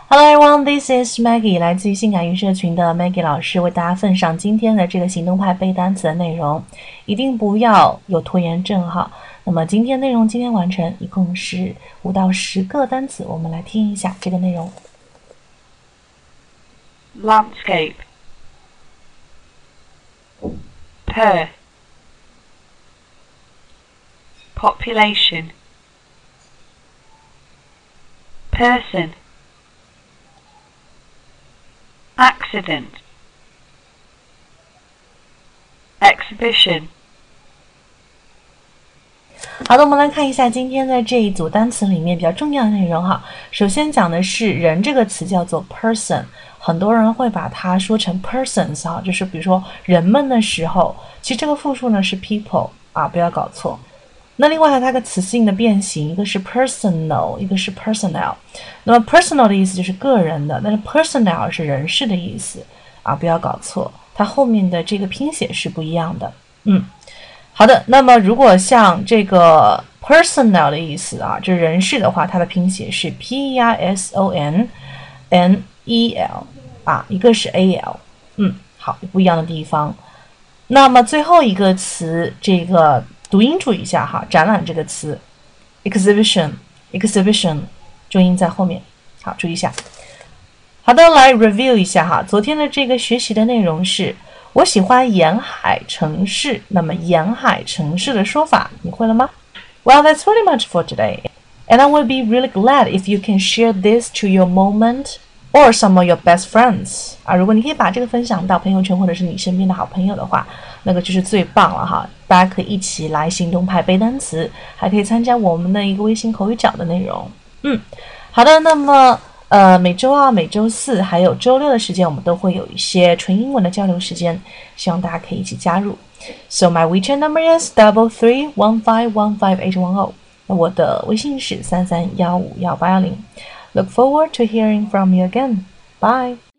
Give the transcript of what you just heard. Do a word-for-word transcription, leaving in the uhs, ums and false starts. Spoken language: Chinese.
Hello everyone, this is Maggie， 来自于性感语社群的 Maggie 老师为大家奉上今天的这个行动派背单词的内容，一定不要有拖延症哈。那么今天内容今天完成，一共是五到十个单词，我们来听一下这个内容。 Landscape, per, population, person, accident, exhibition。 好的，我们来看一下今天的这一组单词里面比较重要的内容哈。首先讲的是人这个词叫做 person， 很多人会把它说成 persons 哈，就是比如说人们的时候，其实这个复数呢是 people 啊，不要搞错。那另外还有它个词性的变形，一个是 personal， 一个是 personnel。那么 personal 的意思就是个人的，但是 personnel 是人事的意思啊，不要搞错，它后面的这个拼写是不一样的。嗯。好的，那么如果像这个 personnel 的意思啊，就是人事的话，它的拼写是 P E R S O N N E L 啊，一个是 A L， 嗯，好，不一样的地方。那么最后一个词，这个读音注意一下哈，展览这个词 exhibition exhibition 重音在后面，好，注意一下。好的，来 review 一下哈，昨天的这个学习的内容是。我喜欢沿海城市，那么沿海城市的说法你会了吗？ Well, that's pretty much for today. And I would be really glad if you can share this to your moment or some of your best friends. 啊，如果你可以把这个分享到朋友圈或者是你身边的好朋友的话，那个就是最棒了哈。大家可以一起来行动派背单词，还可以参加我们的一个微信口语角的内容。嗯，好的，那么呃，每周二、每周四还有周六的时间，我们都会有一些纯英文的交流时间，希望大家可以一起加入。So my WeChat number is double three one five one five eight one zero。那我的微信是三三幺五幺八幺零。Look forward to hearing from you again. Bye.